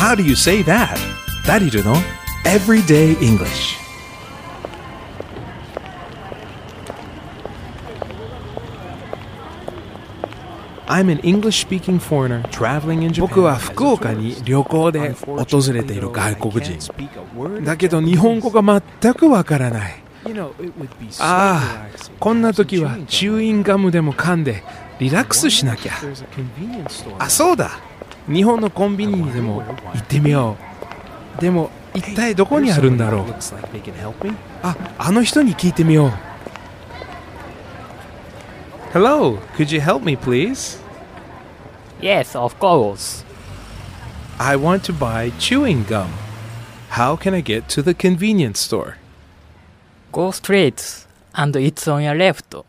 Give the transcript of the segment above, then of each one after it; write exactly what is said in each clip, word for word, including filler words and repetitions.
How do you say that? ダリルの Everyday English。I'm an English-speaking foreigner traveling in Japan. 僕は福岡に旅行で訪れている外国人。だけど日本語が全くわからない。ああ、こんな時はチューインガムでも噛んでリラックスしなきゃ。あ、そうだ。日本のコンビニにでも行ってみよう。でも一体どこにあるんだろう。あ、あの人に聞いてみよう。Hello, could you help me, please? Yes, of course. I want to buy chewing gum. How can I get to the convenience store? Go straight, and it's on your left.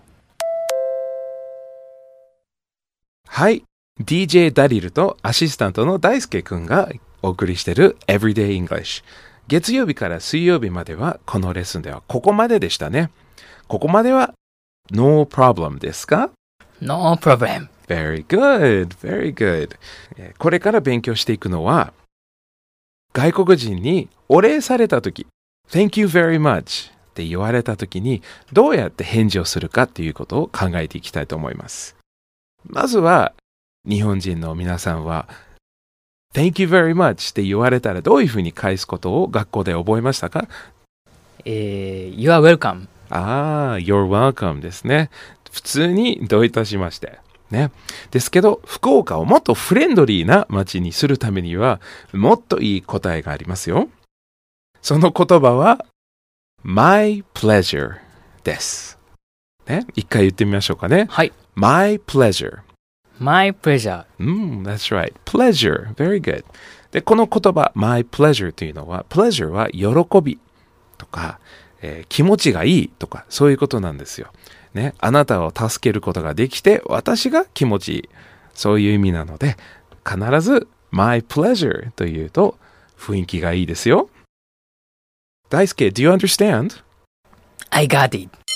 はい、ディージェー ダリルとアシスタントの大輔くんがお送りしている Everyday English。月曜日から水曜日まではこのレッスンではここまででしたね。ここまではNo problem ですか？ No problem. Very good, very good. これから勉強していくのは、外国人にお礼されたとき、Thank you very much って言われたときに、どうやって返事をするかっていうことを考えていきたいと思います。まずは、日本人の皆さんは、Thank you very much って言われたらどういうふうに返すことを学校で覚えましたか？ えー、You are welcome. ああ、You're welcome ですね。普通にどういたしまして。ね。ですけど、福岡をもっとフレンドリーな街にするためには、もっといい答えがありますよ。その言葉は、My pleasure です。ね。一回言ってみましょうかね。 はい。 My pleasure. My pleasure. うん、that's right. Pleasure. Very good. で、この言葉、My pleasure というのは、pleasure は喜びとか、えー、気持ちがいいとかそういうことなんですよ、ね、あなたを助けることができて私が気持ちいいそういう意味なので必ず My pleasure というと雰囲気がいいですよ。大輔 Do you understand? I got it.